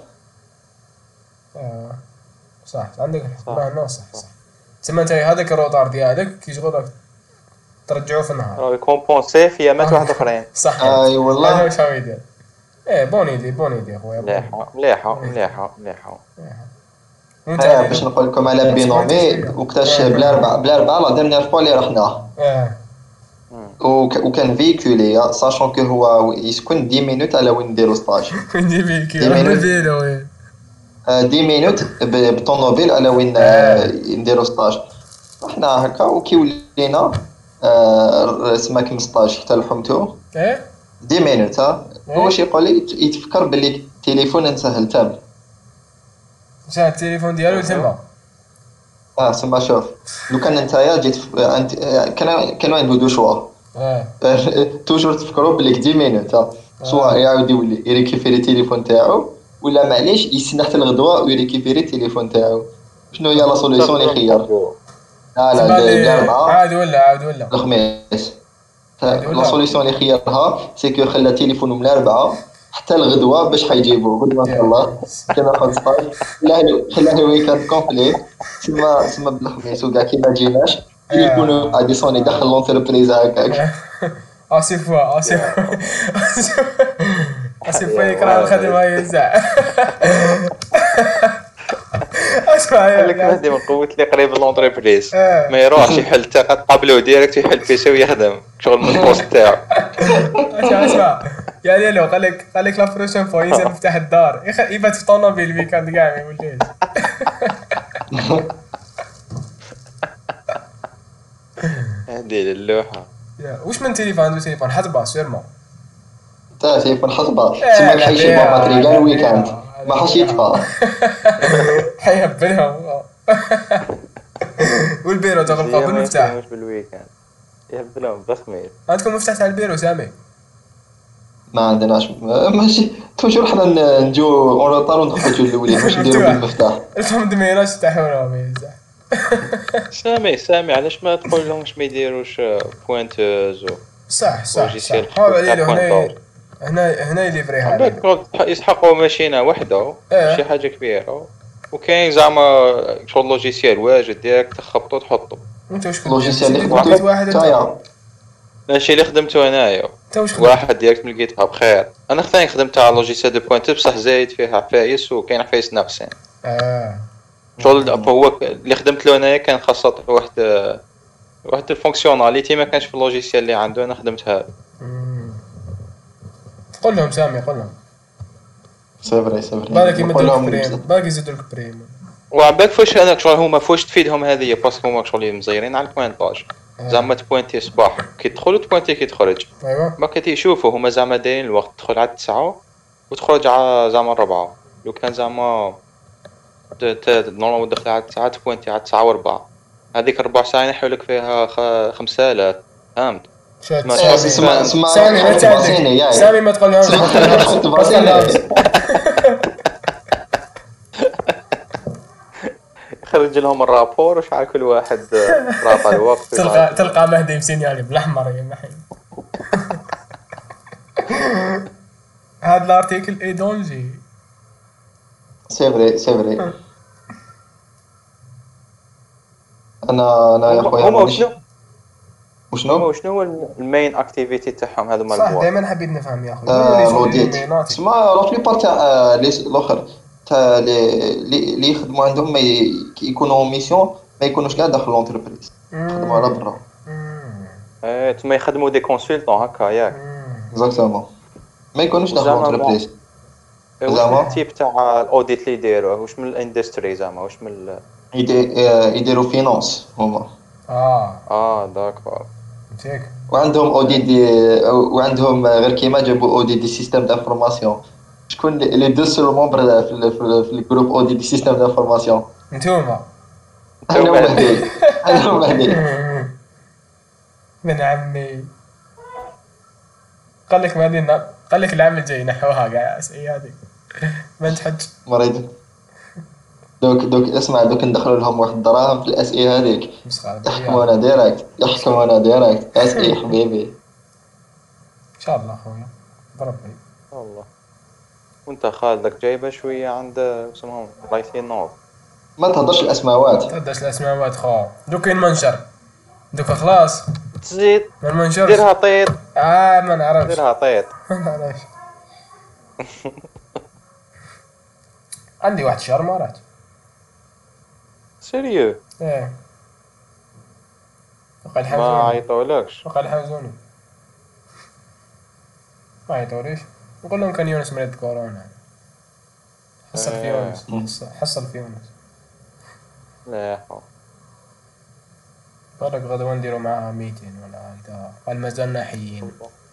آه. صح عندك الحق صح. لا لا صح صح تسمى انت هذاك الروطار ديالك كي شغل راك ترجعوه في النهار راه يكومبونسي في ايامات واحد اخرين. صح اي والله. هذا واش هو يدير ايه بون ايدي بون ايدي خويا بون إيدي. مليحه مليحه مليحه مليحه. وانت اه باش نقول لكم على بينومي وقتاش بلا ربع بلا ربع لا ديرنيير فوا اللي رحناه اه وك- وكان فيكولي ساشون كو هو يسكن عشرة مينوت على وين نديرو ستاج نجيب الكي دي مينوت. بالفيلو إيه. آه، عشرة مينوت ب- بالطوموبيل على وين آه، نديرو ستاج رحنا هكا وكي ولينا آه، سما كيما ستاج حتى لحمتو ايه عشرة مينوت ها هو واش يقول لي يت- يتفكر باللي التليفون نسهل تام جا التليفون ديالو تما اه سما شوف لو كان نتايا جيت ف- انت كان كانوا عنده دو شوا اه توجور تفكروا بلي عشرة مينوت ها سواء يعاود يولي يريكيفيري التليفون تاعو ولا معليش يستنى حتى الغدوه ويريكيفيري التليفون تاعو شنو هي لا سوليسيون اللي خير لا لا تبع لي- الاربعه عاد ولا عاد ولا الخميس عاد ولا. لا سوليسيون اللي خيرها سي كو خلى تليفونه من الاربعه حتى الغدوه باش حيجيبوا غدوه ان شاء الله كناخذ ستاج خلاني خلاني ويكاند كومبلي تما تما بالخميس وكاع كي ما جيناش يكونوا غادي صوني داخل لونتربريز هكاك اسي فوا اسي اسي فوا يكره الخدمه يزع اسمع قال لك مهدي من قوه اللي قريب لونتربريز ما يروحش يحل حتى قابلوه ديريكت يحل بيسي ويخدم شغل من البوست تاعو. اسمع اسمع يا ليلو قال لك قال لك لا بروشين فوا ينزل مفتاح الدار يبات في طونوبيل الويكاند كاع ما يوليش. هذه اللوحه واش من تليفون عنده تليفون حسبه سيرمون تا تليفون حسبه تما حيشي باتري كاع الويكاند ما حاش يطفى حيهبلهم. والبيرو تغلقوا بالمفتاح مش بالويكاند يهبلهم بالخميس. عندكم مفتاح تاع البيرو سامي؟ ما عندناش ماشي توجور حنا نجو اون روطار ونخرجوا الاولين واش نديروا بالمفتاح انتم دميناش تحولهم يزح. سامي سامي علاش ما تقول لهم واش ما يديروش بوينتوز صح صح صح حاول عليه هنا هنا هنا يليفري هذا يسحقوا ماشينه وحده شي حاجه كبيره وكاين زعما شغل لوجيسيال واجد ديريكت تخبطو تحطو. انت واش كنت لوجيسيال اللي خدمت واحد تاعي ماشي اللي خدمته انايا واحد ديريكت من لقيتها بخير. انا ثاني خدمت على لوجيسيال دو بوينت بصح زايد فيها عفايس وكاين عفايس ناقصين. اه شغل هو اللي خدمت له انايا كان خاصه واحد واحد الفونكسيوناليتي ما كانش في اللوجيسيال اللي عنده انا خدمتها. قول لهم سامي قول لهم سي فري سي فري بالك يمدوك بريم بالك يزيدوك بريم وعباك فاش انا شغل هما فاش تفيدهم هذه باسكو هما شغل مزيرين على البوينتاج زعما تبوينتي صباح كي تدخل وتبوينتي كي تخرج. ايوا ما كي تشوفوا هما زعما دايرين الوقت تدخل على التسعة وتخرج على زعما الربعة. لو كان زعما نورمال تدخل على التسعة تبوينتي على التسعة وربعة هذيك ربع ساعة ينحوا لك فيها خمسة آلاف فهمت. اسمع اسمع سامي ما تعدي سامي ما تقولهاش خرج لهم الرابور وش على كل واحد رافع الوقت. تلقى تلقى مهدي مسينيالي بالاحمر يا محي. هذا الارتيكل اي دونجي سي فري سي فري. انا انا يا خويا هما وشنو وشنو وشنو هو المين اكتيفيتي تاعهم هذو مال صح دائما حبيت نفهم يا اخويا اوديت اسمع لا بليبار تاع الاخر تاع لي لي يخدموا عندهم ما يكونوا ميسيون ما يكونوش كاع داخل لونتربريز يخدموا على برا. ايه تما يخدموا دي كونسلطون هكا ياك اكزاكتومون ما يكونوش داخل لونتربريز. زعما التيب تاع الاوديت اللي يديروه واش من الاندستري زعما واش من يديروا فينانس هما. اه اه داكور فيك وعندهم اوديت دي وعندهم غير كيما جابوا اوديت دي سيستيم دانفورماسيون. شكون لي دو سول ممبر في في الجروب اوديت دي سيستيم دانفورماسيون؟ نتوما انا ومهدي انا ومهدي من عمي. قال لك مهدي قال لك العام الجاي نحوها كاع اي هذيك ما تحج مريض. دوك دوك اسمع دوك ندخلوا لهم واحد الدراهم في الاس اي هذيك يحكمونا ديريكت يحكمونا ديريكت اس اي حبيبي ان شاء الله خويا بربي والله. وانت خالدك جايبه شويه عند اسمهم رايتين نوض ما تهضرش الاسماوات تهضرش الاسماوات خو دوك كاين منشر دوك خلاص تزيد ما المنشر ديرها طيط اه ما نعرفش ديرها طيط ما نعرفش. عندي واحد الشهر مرات سيريو ايه وقع ما الحمزوني عيطولكش وقع الحمزوني ما عيطوليش نقول لهم كان يونس مريض كورونا حصل في يونس حصل في يونس لا يا حول. بالك غدوة نديرو معاها ميتين ولا هكذا قال مازالنا حيين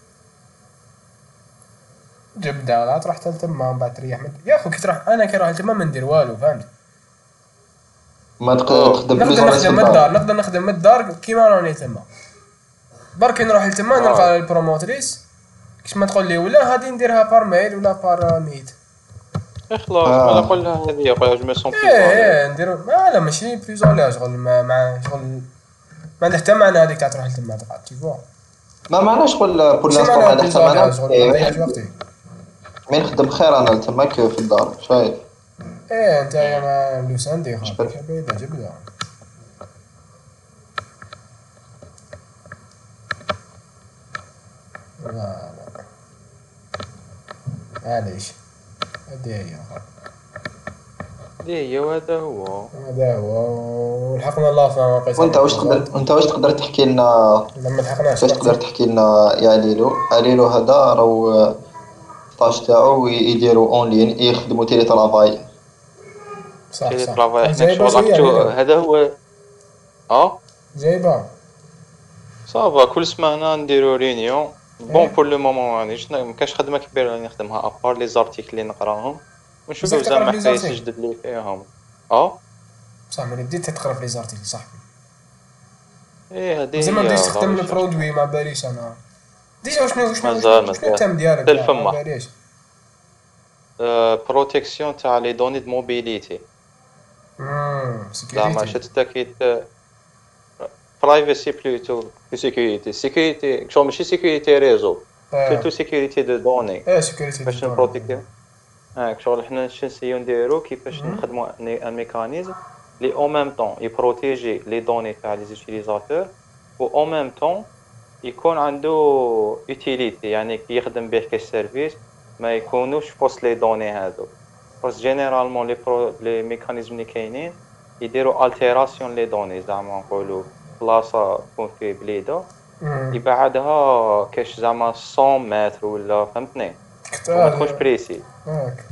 جبدة لا تروح تلتم من بعد تريح يا اخو كي تروح انا كي نروح التما ما ندير والو فهمت. ما تقدر تخدم نقدر نخدم من الدار نقدر نخدم من الدار كيما راني تما برك نروح لتما نلقى البروموتريس كيش ما تقول لي ولا غادي نديرها بار ميل ولا بار ميت خلاص انا نقول لها هذه يا خويا جو سون بليز ايه نديرو لا لا ماشي بليز ولا شغل مع شغل ما عندها حتى معنى هذيك تاع تروح لتما تقعد تي فوا ما معناش شغل بور لانستون هذا حتى معنى مين نخدم خير انا تماك في الدار شايف. ايه انت يا ما لوسان دي خاطر بعيدة جبدة. لا لا معليش هادي هي هذه هي وهذا هو. هذا هو ولحقنا الله في واقع. وانت واش تقدر وانت واش تقدر تحكي لنا لما لحقناش واش تقدر تحكي لنا يا ليلو ليلو هذا راهو الطاج تاعو يديروا اون لين يخدموا تيلي طرافاي. صح تيلي صح طرافاي حنا جايبة شغل شوية أكتو علينا. هذا هو. اه جايبة صافا كل سمانه نديرو ريونيون. بون إيه. بور لو مومون مانيش مكاش خدمه كبيره اللي نخدمها ابار لي زارتيكل اللي نقراهم ونشوفو بزاف تقرا زعما في لي حكايات زارتيكل. جدد اللي فيهم. اه صح ملي بديت تقرا في لي زارتيكل صاحبي ايه هذه زعما هي بديت تخدم لا البرودوي ما باليش انا ديجا وشنو وشنو مازال وشنو مازال التام ديالك حتى كاع ما الفمة. باليش. بروتيكسيون تاع لي دوني دو موبيليتي امم زعما سيكوريتي. شتا كي برايفسي بلوتو في سيكوريتي سيكوريتي شغل ماشي سيكوريتي ريزو بلوتو سيكوريتي دو دوني ايه سيكوريتي باش نبروتيكي هاك شغل حنا شنو نسيو نديرو كيفاش نخدمو ان ميكانيزم لي او ميم طون يبروتيجي لي دوني تاع لي زوتيليزاتور و او ميم طون يكون عنده يوتيليتي يعني كي يخدم به كسيرفيس ما يكونوش فوس لي دوني هادو بس جينيرالمون لي برو لي ميكانيزم اللي كاينين يديروا التيراسيون لي دوني زعما نقولوا بلاصه تكون في بليده يبعدها كاش زعما مية متر ولا فهمتني وما تكونش بريسي هاك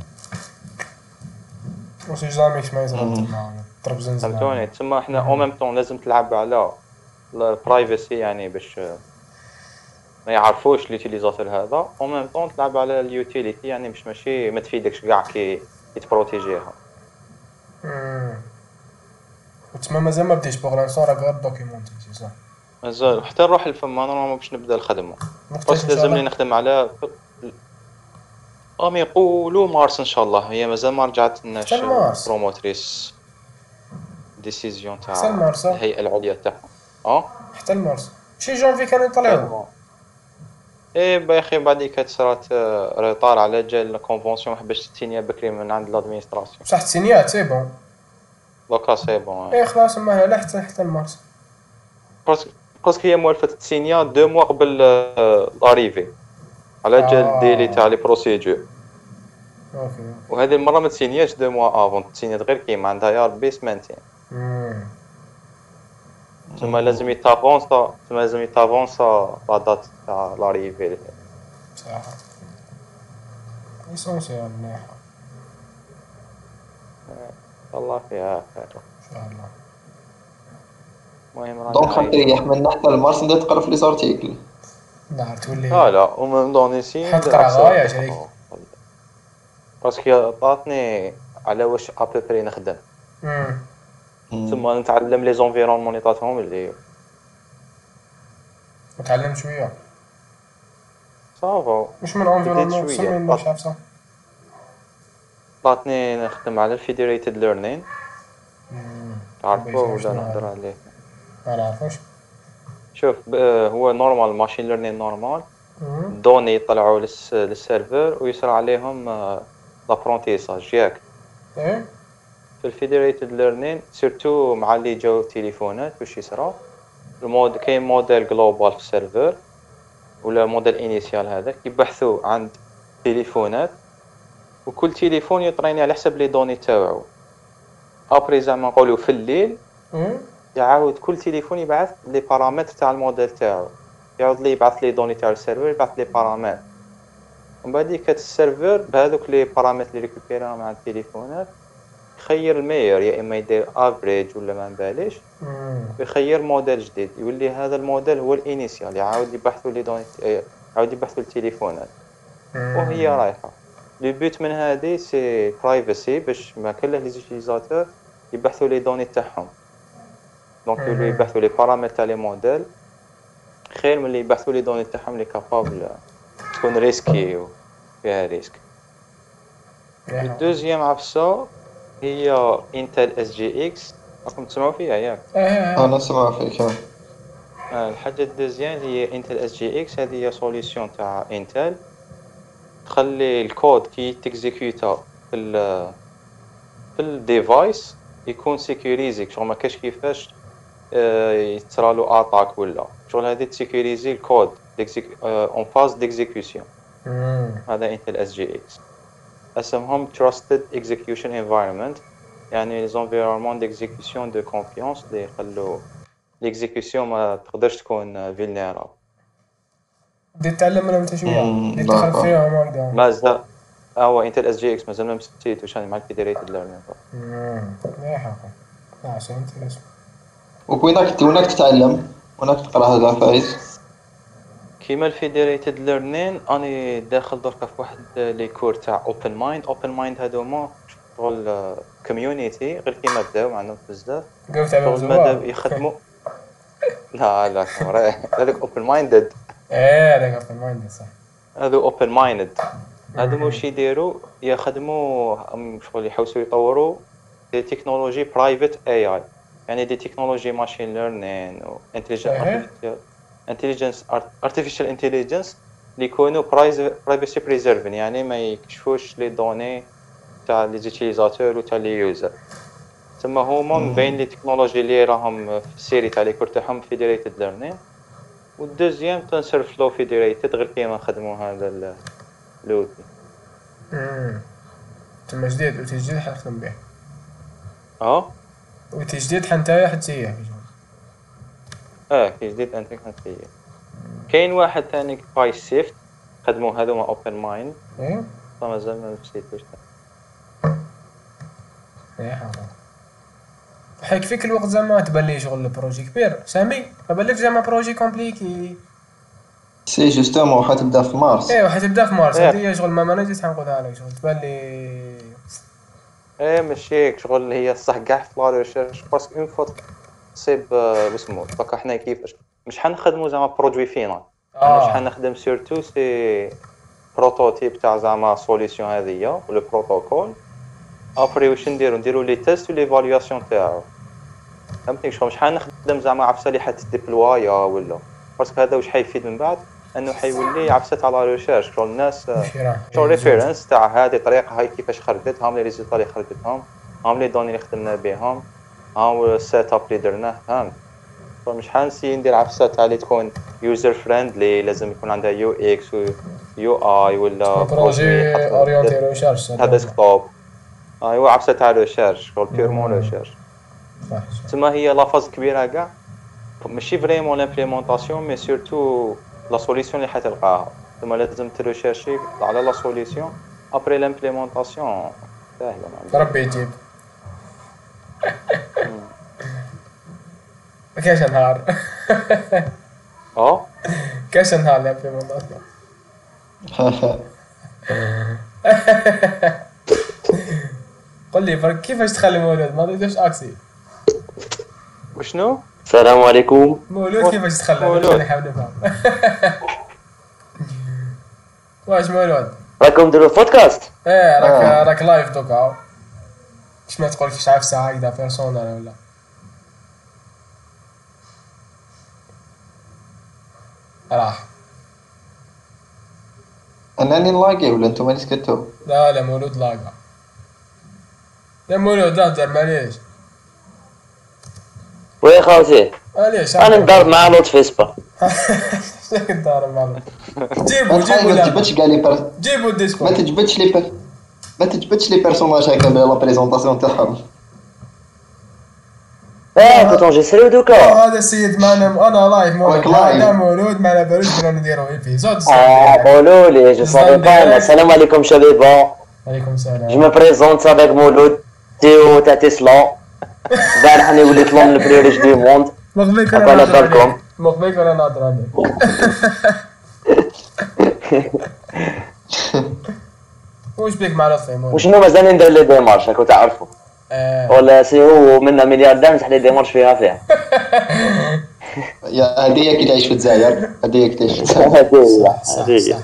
واش جاميش ما يزرب تما ضرب زنزانة. فهمتوني تما حنا او ميم طون لازم تلعب على البرايفسي يعني باش ما يعرفوش ليوتيليزاتور هذا او ميم طون تلعب على اليوتيليتي يعني باش ماشي ما تفيدكش كاع كي يتبروتيجيها. امم وتما مازال ما بديتش بوغ لانسون راك غير دوكيمونتي صح مازال حتى نروح لفما نورمالمون باش نبدا الخدمه وقتاش بس ان شاء لازم لي الله. نخدم على ام يقولوا مارس ان شاء الله هي مازال ما رجعت لناش حتى مارس. بروموتريس ديسيزيون حتى تاع المارس الهيئه العليا تاعهم اه حتى المارس شي جونفي كانوا يطلعوا. ايه با اخي بعديك صرات ريطار على جال الكونفونسيون حباش تسينيا بكري من عند لادمينستراسيون بصح السينيات سي بون. دوكا سي بون ايه خلاص ما لا حتى حتى المارس باسكو باسكو هي موالفه تسينيا دو موا قبل لاريفي على جال ديلي تاع لي بروسيدور اوكي. وهذه المره ما تسينياش دو موا افون تسينيات غير كيما عندها يا ربي سمانتين امم تما لازم يتافونسا تما لازم يتافونسا لا دات تاع لاريفي صح اسونسيال مليحة الله فيها خير ان شاء الله. المهم دونك رانا خاطر يحملنا حتى المارس ندير تقرا في لي زارتيكل. نهار تولي لا لا ومن دونيسي حط قرا غاية شريك. باسكو عطاتني على واش ابوبري نخدم امم ثم نتعلم لي زونفيرونمون اللي عطاتهم اللي نتعلم شوية صافا مش من انفيرونمون بديت سمي شوية. مش عارف عطاتني نخدم على الفيدريتد ليرنين تعرفوا ولا نهضر عليه. ما نعرفوش. شوف هو نورمال ماشين ليرنين نورمال دوني يطلعوا للسيرفر ويصير عليهم لابرونتيساج ياك. ايه في الفيدريتد ليرنين سيرتو مع اللي جاو تليفونات واش يصرا المود كاين موديل جلوبال في السيرفر ولا موديل انيسيال هذاك يبحثوا عند تليفونات وكل تليفون يطريني على حسب لي دوني تاعو ابري زعما نقولوا في الليل يعاود كل تليفون يبعث لي بارامتر تاع الموديل تاعو يعاود لي يبعث لي دوني تاع السيرفر يبعث لي بارامتر ومن بعد كات السيرفر بهذوك لي بارامتر اللي ريكوبيراهم مع التليفونات يخير المير يا اما يدير افريج ولا ما نباليش ويخير موديل جديد يولي هذا الموديل هو الانيسيال يعاود يبحثوا لي دوني يعاود يبحثوا التليفونات وهي رايحه لو بوت من هذه سي برايفسي باش ما كله لي زوتيليزاتور يبحثوا لي دوني تاعهم دونك يولوا يبحثوا لي بارامتر تاع لي موديل خير من اللي يبحثوا لي دوني تاعهم لي كابابل تكون ريسكي وفيها ريسك. الدوزيام عفسه هي انتل اس جي اكس راكم تسمعوا فيها ياك؟ انا نسمع فيك. الحاجه الدوزيام هي انتل اس جي اكس هذه هي سوليسيون تاع انتل تخلي الكود كي تكزيكيوتا في ال في الديفايس يكون سيكوريزي، شغل ما كاش كيفاش يتصرى له اتاك ولا شغل هذه تسيكوريزي الكود اون فاز ديكزيكيوشن. هذا انتل اس جي اكس اسمهم trusted execution environment، يعني les environnements d'exécution de confiance اللي يخلوا الاكزيكيوشن ما تقدرش تكون فيلنيرابل. بدي اتعلم منهم انت شويه، بدي ادخل فيهم هكذا. مازال هو انتل اس جي اكس مازال ما مستيتوش مع الفيدريتد ليرنينغ. امم يا حقا عشان انت ليش وكوينك وينك تتعلم وينك تقرا هذا فايز؟ كيما الفيدريتد ليرنين اني داخل دركا في واحد لي كور تاع اوبن مايند. اوبن مايند هذوما شغل كوميونيتي غير كيما بداو ما عندهم بزاف شغل ماذا يخدموا. لا لا هذاك اوبن مايندد. ايه هذاك اوبن مايندد صح. هذو اوبن مايندد هذو واش يديروا يخدموا شغل يحوسوا يطوروا دي تكنولوجي برايفت اي اي، يعني دي تكنولوجي ماشين ليرنين و انتليجنس ارتفيشال انتليجنس اللي يكونوا برايفسي بريزيرفين، يعني ما يكشفوش لي دوني تاع لي زوتيليزاتور و تاع لي يوزر. ثم هما من بين لي تكنولوجي اللي راهم في السيري تاع لي كور تاعهم فيدريتد ليرنين، والدوزيام تنسر فلو فيدريتد غير كيما نخدموا هذا لوتي. امم ثم جديد وتجديد حنخدم به. اه وتجديد حنتايا حتسيح اه كي جديد انت كنت فيه. كاين واحد ثاني باي سيفت خدموا هذوما اوبن مايند. ايه مازال ما نسيتوش. ايه حاضر حيك فيك الوقت زعما تبان لي شغل البروجي كبير سامي، ما بالك زعما بروجي كومبليكي. سي جوستومون حتبدا في مارس. ايه حتبدا في مارس. هذه هي شغل ما مانيتش حنقولها لك شغل تبان لي. ايه ماشي هيك شغل هي صح كاع في لا ريشيرش باسكو اون فوا تصيب واسمو دونك حنا كيفاش مش حنخدموا زعما برودوي فينال. انا واش حنخدم سورتو سي بروتوتيب تاع زعما سوليسيون هذيا ولا بروتوكول. ابري واش نديرو نديرو لي تيست و ليفاليواسيون تاعو. فهمتني شغل مش حنخدم زعما عفسه اللي حتديبلوايا ولا باسكو هذا واش حيفيد من بعد انه حيولي عفسه تاع لا ريشيرش شغل الناس شغل ريفيرنس تاع هذه الطريقه هاي كيفاش خرجت هم لي ريزولطا اللي خرجتهم هم لي دوني اللي خدمنا بهم هم السيت اب اللي درناه. فهمت مش حنسي ندير عفسه تاع اللي تكون يوزر فريندلي لازم يكون عندها يو اكس و يو اي ولا بروجي اورينتي ريشيرش هذا ديسكتوب. ايوا عفسه تاع ريشيرش شغل بيرمون ريشيرش. تما هي لا فاز كبيره كاع ماشي فريمون لامبليمونطاسيون مي سورتو لا سوليسيون اللي حتلقاها. ثم لازم تريشيرشي على لا سوليسيون ابري لامبليمونطاسيون ساهله ربي يجيب. كاش نهار اه كاش نهار لامبليمونطاسيون. قل لي فرق كيفاش تخلي مولود ما تقدرش اكسي وشنو؟ السلام عليكم. مولود كيفاش تخلى مولود نحاول نفهم. واش مولود راكم ديروا بودكاست؟ ايه راك راك لايف دوكا اش ما تقول كيش عارف ساعه هكذا بيرسونال ولا راح انني نلاقي ولا انتم اللي سكتوا؟ لا لا مولود لاقا يا مولود لا تدار معليش. ويا خاوتي معليش انا ندار مع لطفي سبا. شنو ندار مع لطفي؟ جيبو جيبو ما تجبدش كاع لي بير جيبو الديسكورد ما تجبدش لي بير ما تجبدش لي بيرسوناج هكا لا بريزونطاسيون تاعهم. اه كنت نجسريو دوكا. هذا السيد معنا انا لايف مولود معنا مولود معنا باروش بدنا نديرو ايبيزود. اه قولوا لي جو سافي با. السلام عليكم شباب. عليكم السلام. جو مي بريزونت افيك مولود تيو تاع تسلا. البارح راني وليت لهم البلي ريش دي موند. مغبيك انا نهضر عليك مغبيك انا نهضر عليك. واش بيك مع لطفي مولود؟ وشنو مازال ندير لي ديمارش راكو تعرفوا. ولا سي هو منا ملياردير نصح لي ديمارش فيها فيها. يا هذه كي تعيش في الجزائر هذه كي تعيش في الجزائر. هذه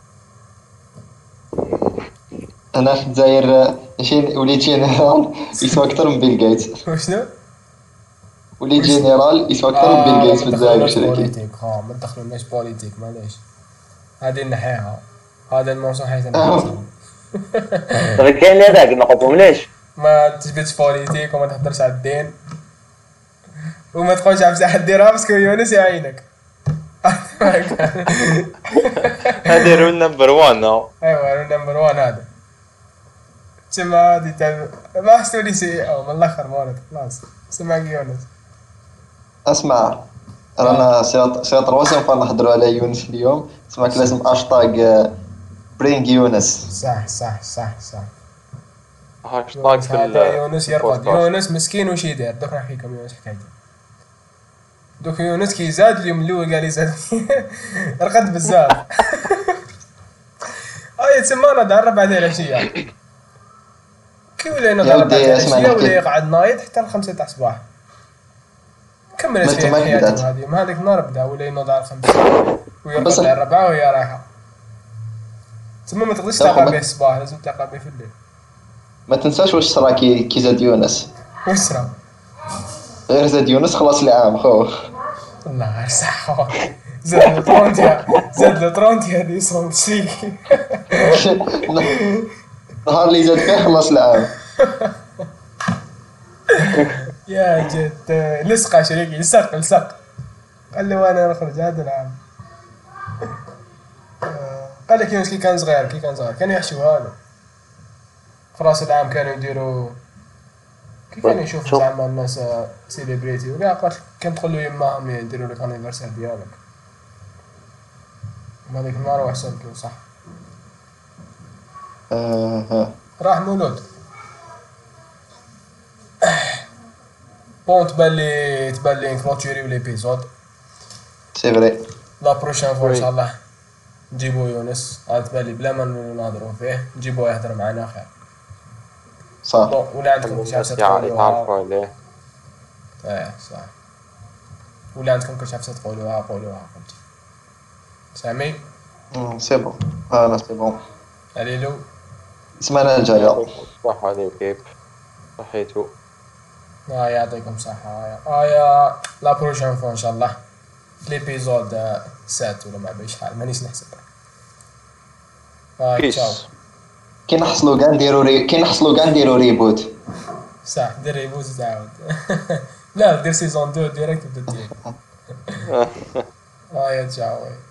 انا في الجزائر ماشي وليت جينيرال يسوى اكثر من بيل جيتس. وشنو؟ وليت جينيرال يسوى اكثر من بيل جيتس في الجزائر. بوليتيك ها ما تدخلوناش بوليتيك معليش هذه نحيها. هذا الموسم حيث انا دابا كاين اللي هذاك ما قلتهمليش. ما تجبدش بوليتيك وما تهضرش على الدين وما تقولش على بصح ديرها باسكو يونس يعينك. هذا رول نمبر واحد. ايوا نمبر واحد هذا تما هادي تاع ما حسولي سي او من الاخر مولد خلاص سمعك يونس. اسمع رانا سي سي تروازيام فوا نهضروا على يونس اليوم. سمعك لازم هاشتاغ برينغ يونس. صح صح صح صح. هاشتاغ في هذا يونس يرقد. البودكاست. يونس مسكين وش يدير دوك نحكيكم يونس حكايته. دوك يونس كي زاد اليوم الاول قال لي زاد رقد بزاف. هاي تسمى انا دار بعد العشيه كي ولينا دار بعد العشيه ولا يقعد نايض حتى الخمسة تاع الصباح. كمل فيها حياته هذه ما هذيك النهار بدا ولا ينوض على الخمسة ويرقد على الربعة وهي رايحه. تسمى ما تقدرش تلقى به الصباح لازم تلقى به في الليل. ما تنساش واش صرا كي كي زاد يونس. واش صرا؟ غير زاد يونس خلاص العام خو. الله غير صح. زاد له ثلاثين زاد له ثلاثين هذه صوم شي. نهار اللي زاد فيه خلاص العام. يا جد لصق شريكي لصق لصق. قال له انا نخرج هذا العام. قال لك يونس كي كان صغير كي كان صغير كانوا يحشوا هذا في راس العام كانوا يديروا كي كانوا يشوفوا زعما الناس سيليبريتي وكاع قالت كان تدخل له يماهم يديروا لك انيفرسير ديالك. هذيك النهار وحسن كي صح. اها راح مولود. بون تبان لي تبان لي نكلوتوريو ليبيزود. سي فري. لا بروشين فوا ان شاء الله نجيبو يونس. عاد تبان لي بلا ما نهضروا فيه نجيبوه يهضر معنا خير. صح. بون ولا عندكم شي حاجه تقولوها؟ يتعرفوا عليه. ايه صح. ولا عندكم كل شي حاجه تقولوها قولوها فهمتي. سامي سي بون. انا سي بون. اليلو السمانه الجايه. صح عليك كيف صحيتو. اه يعطيكم الصحه. اه يا لا بروشين فوا ان شاء الله في ليبيزود سات ولا ما بعرف شحال مانيش نحسب. اه تشاو. كي نحصلوا كاع نديروا ري... كي نحصلوا كاع نديروا ريبوت. صح دير ريبوت تعاود. لا دير سيزون اثنين ديريكت وبدا دير. اه يا تشاو.